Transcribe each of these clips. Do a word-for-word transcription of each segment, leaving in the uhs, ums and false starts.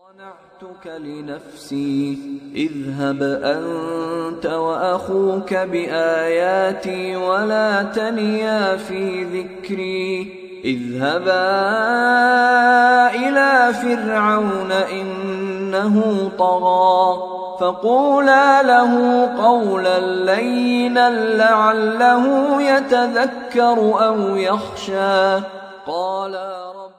صنعتك لنفسي اذهب أنت وأخوك بآياتي ولا تنيا في ذكري اذهبا إلى فرعون إنه طغى فقولا له قولا لينا لعله يتذكر أو يخشى قال رب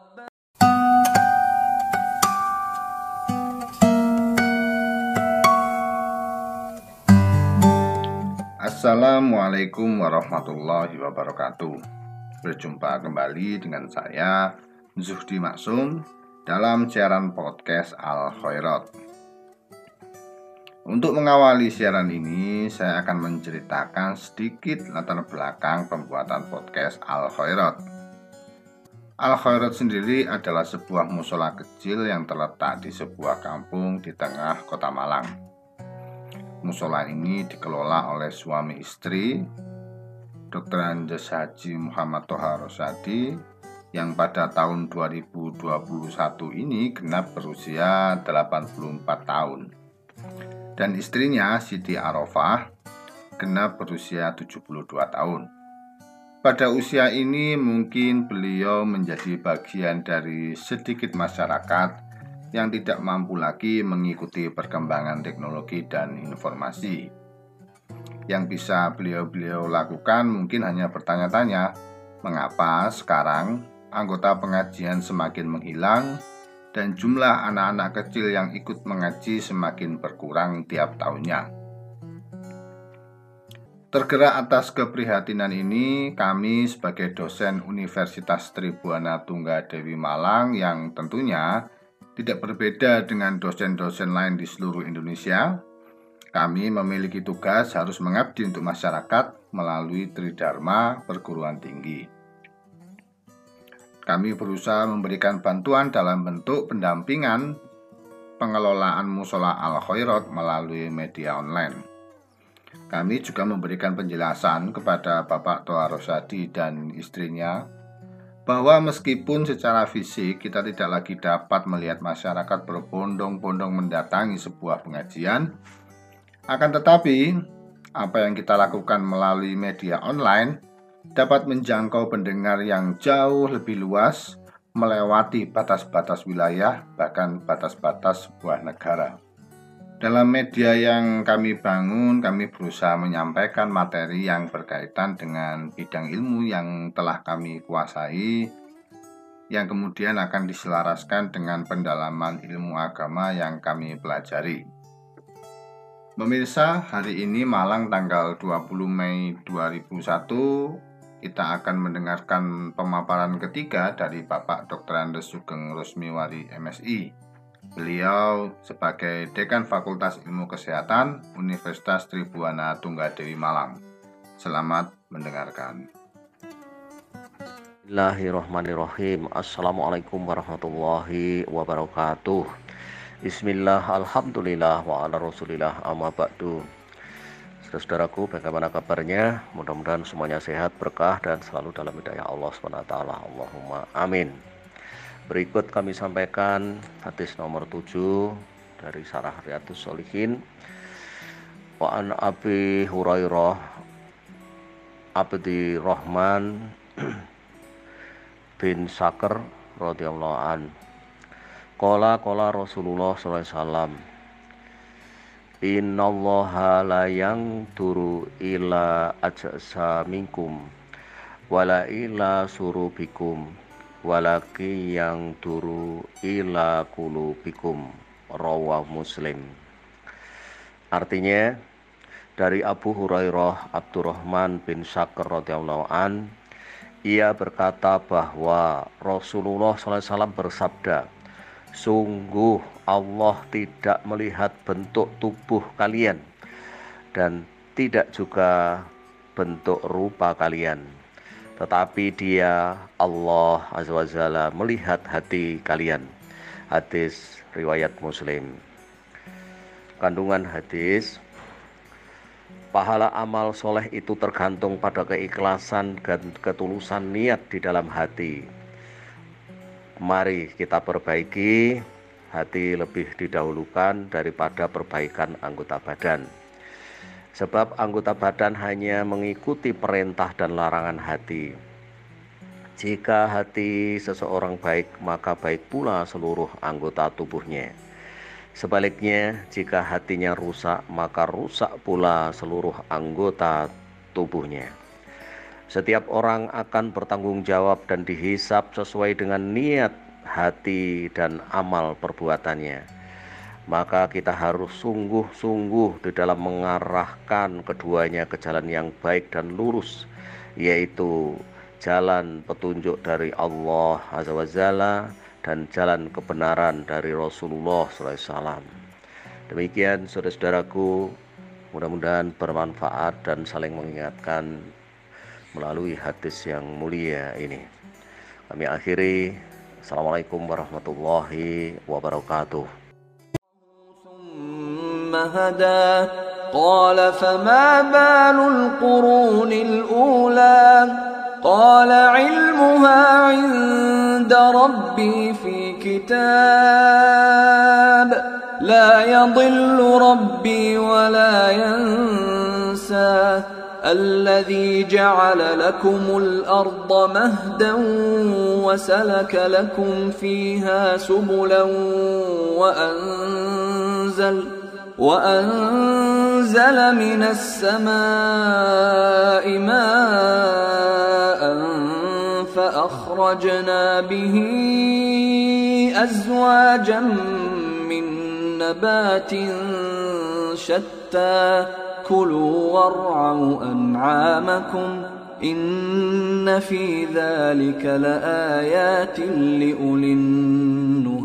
Assalamualaikum warahmatullahi wabarakatuh. Berjumpa kembali dengan saya Zuhdi Maksum dalam siaran podcast Al Khairat. Untuk mengawali siaran ini, saya akan menceritakan sedikit latar belakang pembuatan podcast Al Khairat. Al Khairat sendiri adalah sebuah musola kecil yang terletak di sebuah kampung di tengah kota Malang. Musola ini dikelola oleh suami istri Doktor Andes Haji Muhammad Toha Rosadi yang pada tahun dua ribu dua puluh satu ini genap berusia delapan puluh empat tahun, dan istrinya Siti Arofah genap berusia tujuh puluh dua tahun. Pada usia ini mungkin beliau menjadi bagian dari sedikit masyarakat yang tidak mampu lagi mengikuti perkembangan teknologi dan informasi. Yang bisa beliau-beliau lakukan mungkin hanya bertanya-tanya, mengapa sekarang anggota pengajian semakin menghilang dan jumlah anak-anak kecil yang ikut mengaji semakin berkurang tiap tahunnya. Tergerak atas keprihatinan ini, kami sebagai dosen Universitas Tribuana Tunggadewi Malang yang tentunya tidak berbeda dengan dosen-dosen lain di seluruh Indonesia, kami memiliki tugas harus mengabdi untuk masyarakat melalui Tridharma Perguruan Tinggi. Kami berusaha memberikan bantuan dalam bentuk pendampingan pengelolaan musola Al Khairat melalui media online. Kami juga memberikan penjelasan kepada Bapak Toha Rosadi dan istrinya bahwa meskipun secara fisik kita tidak lagi dapat melihat masyarakat berbondong-bondong mendatangi sebuah pengajian, akan tetapi apa yang kita lakukan melalui media online dapat menjangkau pendengar yang jauh lebih luas, melewati batas-batas wilayah, bahkan batas-batas sebuah negara. Dalam media yang kami bangun, kami berusaha menyampaikan materi yang berkaitan dengan bidang ilmu yang telah kami kuasai, yang kemudian akan diselaraskan dengan pendalaman ilmu agama yang kami pelajari. Pemirsa, hari ini Malang tanggal dua puluh Mei dua ribu satu, kita akan mendengarkan pemaparan ketiga dari Bapak Doktor Andes Sugeng Rosmiwari M Si. Beliau sebagai Dekan Fakultas Ilmu Kesehatan Universitas Tribuana Tunggadewi Malang. Selamat mendengarkan. Bismillahirrahmanirrahim. Assalamualaikum warahmatullahi wabarakatuh. Bismillah, alhamdulillah, wa ala rasulillah, amma ba'du. Saudaraku, bagaimana kabarnya? Mudah-mudahan semuanya sehat, berkah, dan selalu dalam hidayah Allah subhanahu wa taala. Allahumma amin. Berikut kami sampaikan hadis nomor tujuh dari Syarah Riyadhus Shalihin. Wa an Abi Hurairah Abdi Rahman bin Sakar radhiyallahu an. Qala qala Rasulullah sallallahu alaihi wasallam. Innallaha la yanzuru ila ajsamikum wala ila surubikum walaki yang turu ila kulubikum, rawah Muslim. Artinya, dari Abu Hurairah Abdurrahman bin Sakar radhiyallahu an, ia berkata bahwa Rasulullah sallallahu alaihi wasallam bersabda, sungguh Allah tidak melihat bentuk tubuh kalian dan tidak juga bentuk rupa kalian, tetapi Dia, Allah Azza wa Jalla, melihat hati kalian. Hadis riwayat Muslim. Kandungan hadis: pahala amal soleh itu tergantung pada keikhlasan dan ketulusan niat di dalam hati. Mari kita perbaiki hati lebih didahulukan daripada perbaikan anggota badan. Sebab anggota badan hanya mengikuti perintah dan larangan hati. Jika hati seseorang baik, maka baik pula seluruh anggota tubuhnya. Sebaliknya, jika hatinya rusak, maka rusak pula seluruh anggota tubuhnya. Setiap orang akan bertanggung jawab dan dihisap sesuai dengan niat, hati, dan amal perbuatannya. Maka kita harus sungguh-sungguh di dalam mengarahkan keduanya ke jalan yang baik dan lurus, yaitu jalan petunjuk dari Allah Azza wa Jalla dan jalan kebenaran dari Rasulullah shallallahu alaihi wasallam. Demikian saudara-saudaraku, mudah-mudahan bermanfaat dan saling mengingatkan melalui hadis yang mulia ini. Kami akhiri. Assalamualaikum warahmatullahi wabarakatuh. هدى قال فما بال القرون الأولى قال علمها عند ربي في كتاب لا يضل ربي ولا ينسى الذي جعل لكم الأرض مهدا وسلك لكم فيها سبلا وأنزل وأنزل من السماء ماء فأخرجنا به أزواجا من نبات شتى كلوا وارعوا أنعامكم إن في ذلك لآيات لأولي النهى